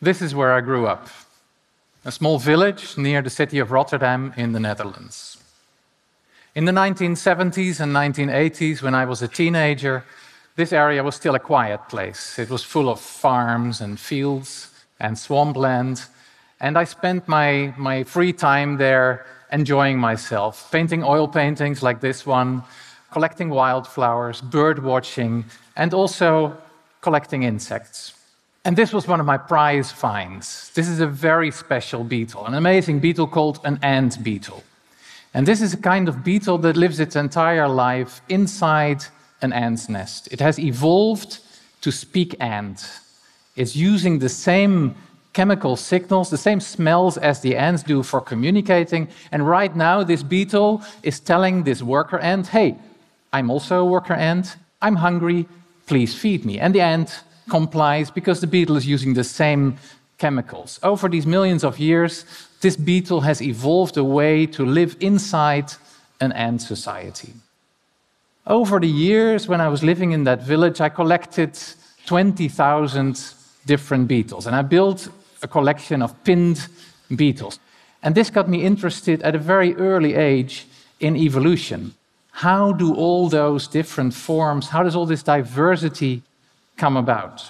This is where I grew up, a small village near the city of Rotterdam in the Netherlands. In the 1970s and 1980s, when I was a teenager, this area was still a quiet place. It was full of farms and fields and swampland, and I spent my free time there enjoying myself, painting oil paintings like this one, collecting wildflowers, bird watching, and also collecting insects. And this was one of my prize finds. This is a very special beetle, an amazing beetle called an ant beetle. And this is a kind of beetle that lives its entire life inside an ant's nest. It has evolved to speak ant. It's using the same chemical signals, the same smells as the ants do for communicating. And right now, this beetle is telling this worker ant, hey, I'm also a worker ant, I'm hungry, please feed me. And the ant complies because the beetle is using the same chemicals. Over these millions of years, this beetle has evolved a way to live inside an ant society. Over the years, when I was living in that village, I collected 20,000 different beetles, and I built a collection of pinned beetles. And this got me interested at a very early age in evolution. How do all those different forms, how does all this diversity come about?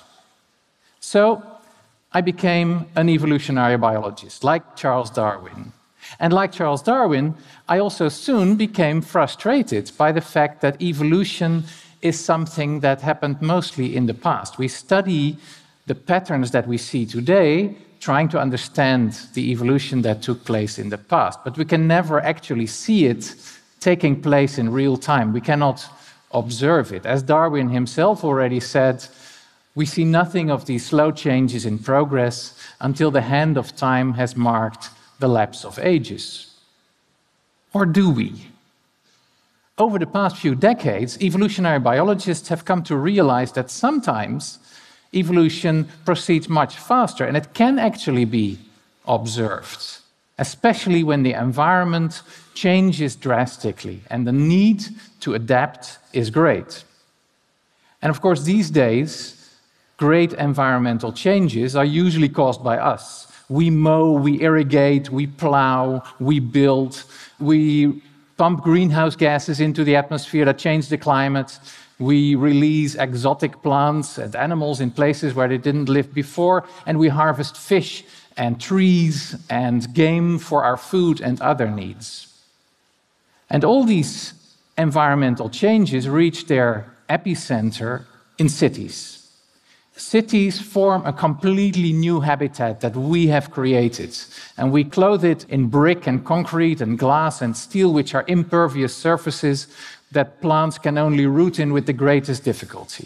So I became an evolutionary biologist, like Charles Darwin. And like Charles Darwin, I also soon became frustrated by the fact that evolution is something that happened mostly in the past. We study the patterns that we see today, trying to understand the evolution that took place in the past, but we can never actually see it taking place in real time. We cannot observe it. As Darwin himself already said, we see nothing of these slow changes in progress until the hand of time has marked the lapse of ages. Or do we? Over the past few decades, evolutionary biologists have come to realize that sometimes evolution proceeds much faster, and it can actually be observed, especially when the environment changes drastically and the need to adapt is great. And of course, these days, great environmental changes are usually caused by us. We mow, we irrigate, we plow, we build, we pump greenhouse gases into the atmosphere that change the climate. We release exotic plants and animals in places where they didn't live before, and we harvest fish and trees and game for our food and other needs. And all these environmental changes reach their epicenter in cities. Cities form a completely new habitat that we have created, and we clothe it in brick and concrete and glass and steel, which are impervious surfaces that plants can only root in with the greatest difficulty.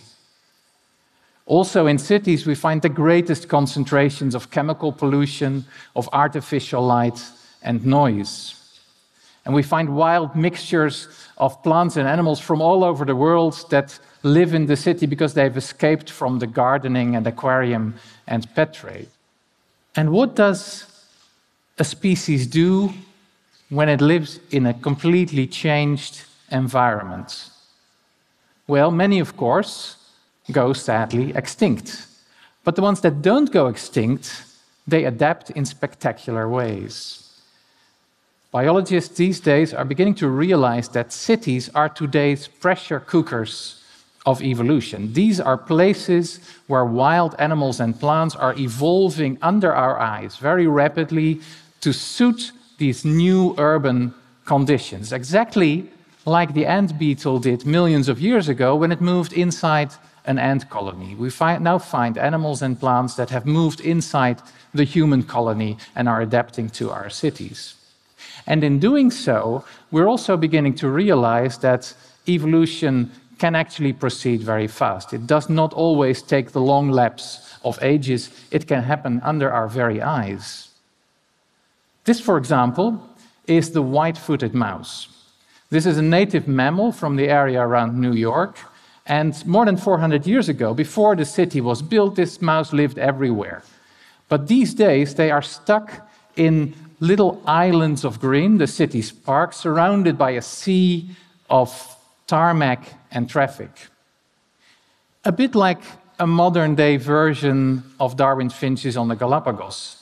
Also in cities, we find the greatest concentrations of chemical pollution, of artificial light and noise. And we find wild mixtures of plants and animals from all over the world that live in the city because they've escaped from the gardening and aquarium and pet trade. And what does a species do when it lives in a completely changed environment? Well, many, of course, go sadly extinct. But the ones that don't go extinct, they adapt in spectacular ways. Biologists these days are beginning to realize that cities are today's pressure cookers of evolution. These are places where wild animals and plants are evolving under our eyes very rapidly to suit these new urban conditions, exactly like the ant beetle did millions of years ago when it moved inside an ant colony. We now find animals and plants that have moved inside the human colony and are adapting to our cities. And in doing so, we're also beginning to realize that evolution can actually proceed very fast. It does not always take the long lapse of ages. It can happen under our very eyes. This, for example, is the white-footed mouse. This is a native mammal from the area around New York, and more than 400 years ago, before the city was built, this mouse lived everywhere. But these days, they are stuck in little islands of green, the city's parks, surrounded by a sea of tarmac and traffic. A bit like a modern-day version of Darwin's finches on the Galapagos.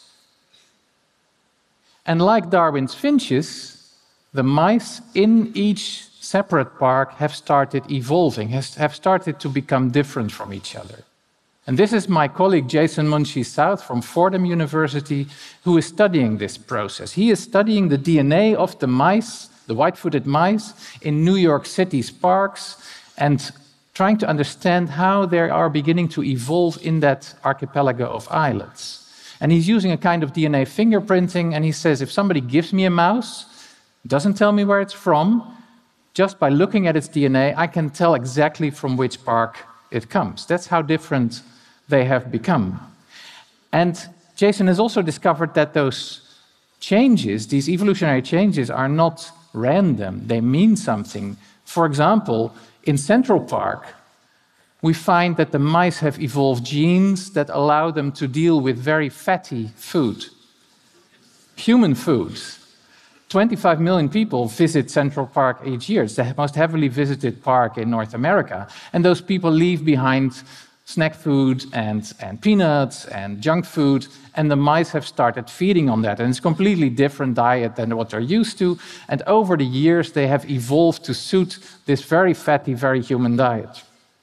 And like Darwin's finches, the mice in each separate park have started evolving, have started to become different from each other. And this is my colleague Jason Munshi-South from Fordham University, who is studying this process. He is studying the DNA of the mice, the white-footed mice, in New York City's parks, and trying to understand how they are beginning to evolve in that archipelago of islands. And he's using a kind of DNA fingerprinting, and he says, if somebody gives me a mouse, doesn't tell me where it's from, just by looking at its DNA, I can tell exactly from which park it comes. That's how different they have become. And Jason has also discovered that those changes, these evolutionary changes, are not random. They mean something. For example, in Central Park, we find that the mice have evolved genes that allow them to deal with very fatty food, human food. 25 million people visit Central Park each year. It's the most heavily visited park in North America. And those people leave behind snack food and peanuts and junk food, and the mice have started feeding on that. And it's a completely different diet than what they're used to. And over the years, they have evolved to suit this very fatty, very human diet.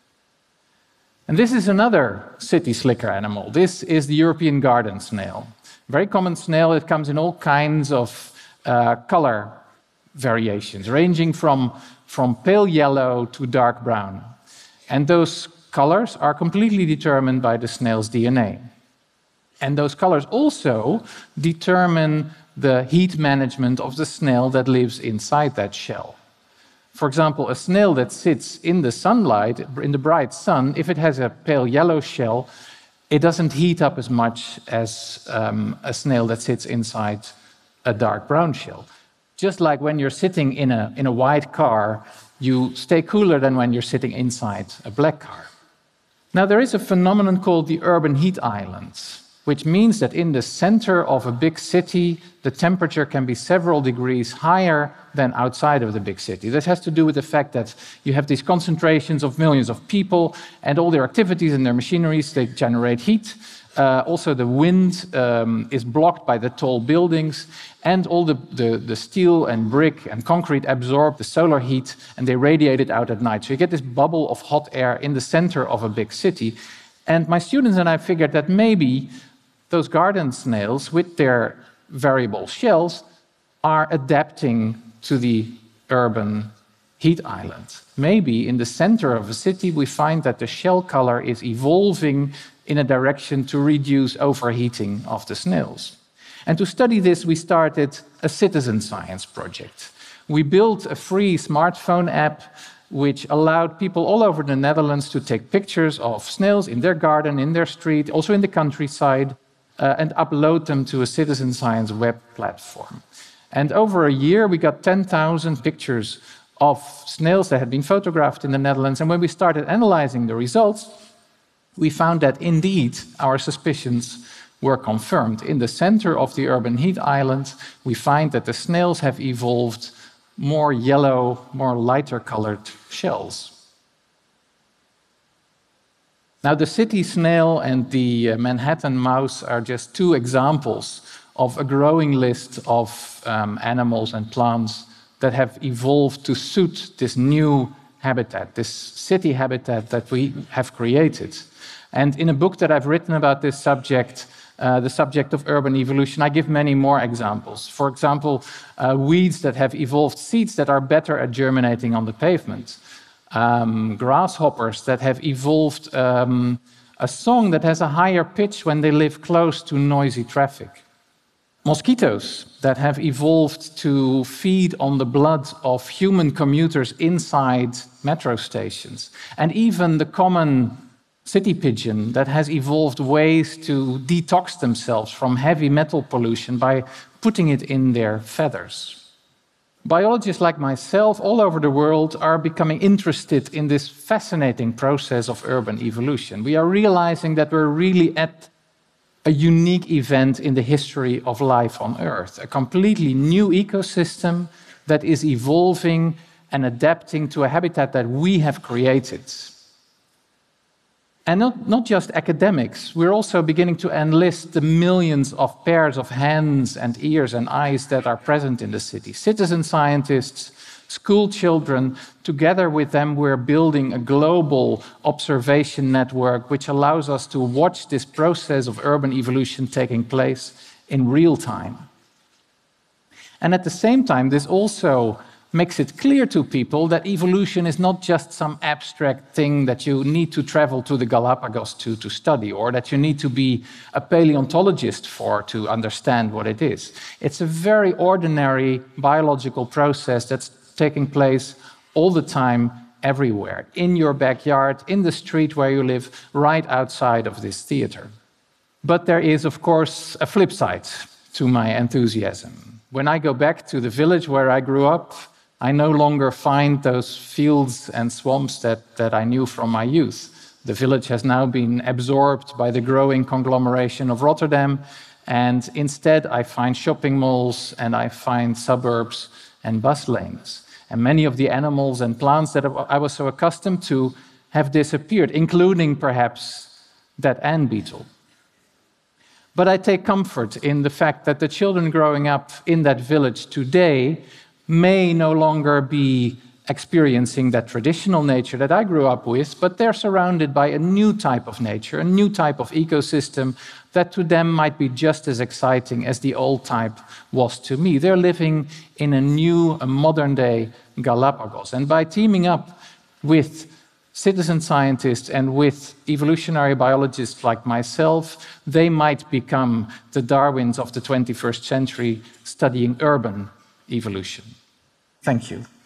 And this is another city slicker animal. This is the European garden snail. A very common snail. It comes in all kinds of color variations, ranging from pale yellow to dark brown. And those colors are completely determined by the snail's DNA. And those colors also determine the heat management of the snail that lives inside that shell. For example, a snail that sits in the sunlight, in the bright sun, if it has a pale yellow shell, it doesn't heat up as much as a snail that sits inside a dark brown shell. Just like when you're sitting in a white car, you stay cooler than when you're sitting inside a black car. Now, there is a phenomenon called the urban heat islands, which means that in the center of a big city, the temperature can be several degrees higher than outside of the big city. This has to do with the fact that you have these concentrations of millions of people, and all their activities and their machineries, they generate heat. Also, the wind is blocked by the tall buildings, and all the steel and brick and concrete absorb the solar heat, and they radiate it out at night. So you get this bubble of hot air in the center of a big city. And my students and I figured that maybe those garden snails, with their variable shells, are adapting to the urban heat island. Maybe in the center of a city, we find that the shell color is evolving in a direction to reduce overheating of the snails. And to study this, we started a citizen science project. We built a free smartphone app which allowed people all over the Netherlands to take pictures of snails in their garden, in their street, also in the countryside, and upload them to a citizen science web platform. And over a year, we got 10,000 pictures of snails that had been photographed in the Netherlands. And when we started analyzing the results, we found that indeed our suspicions were confirmed. In the center of the urban heat island, we find that the snails have evolved more yellow, more lighter colored shells. Now, the city snail and the Manhattan mouse are just two examples of a growing list of animals and plants that have evolved to suit this new habitat, this city habitat that we have created. And in a book that I've written about this subject, the subject of urban evolution, I give many more examples. For example, weeds that have evolved seeds that are better at germinating on the pavement. Grasshoppers that have evolved a song that has a higher pitch when they live close to noisy traffic. Mosquitoes that have evolved to feed on the blood of human commuters inside metro stations. And even the common city pigeon that has evolved ways to detox themselves from heavy metal pollution by putting it in their feathers. Biologists like myself all over the world are becoming interested in this fascinating process of urban evolution. We are realizing that we're really at a unique event in the history of life on Earth, a completely new ecosystem that is evolving and adapting to a habitat that we have created. And not just academics, we're also beginning to enlist the millions of pairs of hands and ears and eyes that are present in the city. Citizen scientists, school children, together with them we're building a global observation network which allows us to watch this process of urban evolution taking place in real time. And at the same time, this also makes it clear to people that evolution is not just some abstract thing that you need to travel to the Galapagos to study, or that you need to be a paleontologist for to understand what it is. It's a very ordinary biological process that's taking place all the time, everywhere, in your backyard, in the street where you live, right outside of this theater. But there is, of course, a flip side to my enthusiasm. When I go back to the village where I grew up, I no longer find those fields and swamps that I knew from my youth. The village has now been absorbed by the growing conglomeration of Rotterdam, and instead I find shopping malls and I find suburbs and bus lanes. And many of the animals and plants that I was so accustomed to have disappeared, including perhaps that ant beetle. But I take comfort in the fact that the children growing up in that village today may no longer be experiencing that traditional nature that I grew up with, but they're surrounded by a new type of nature, a new type of ecosystem that to them might be just as exciting as the old type was to me. They're living in a modern-day Galapagos. And by teaming up with citizen scientists and with evolutionary biologists like myself, they might become the Darwins of the 21st century studying urban evolution. Thank you.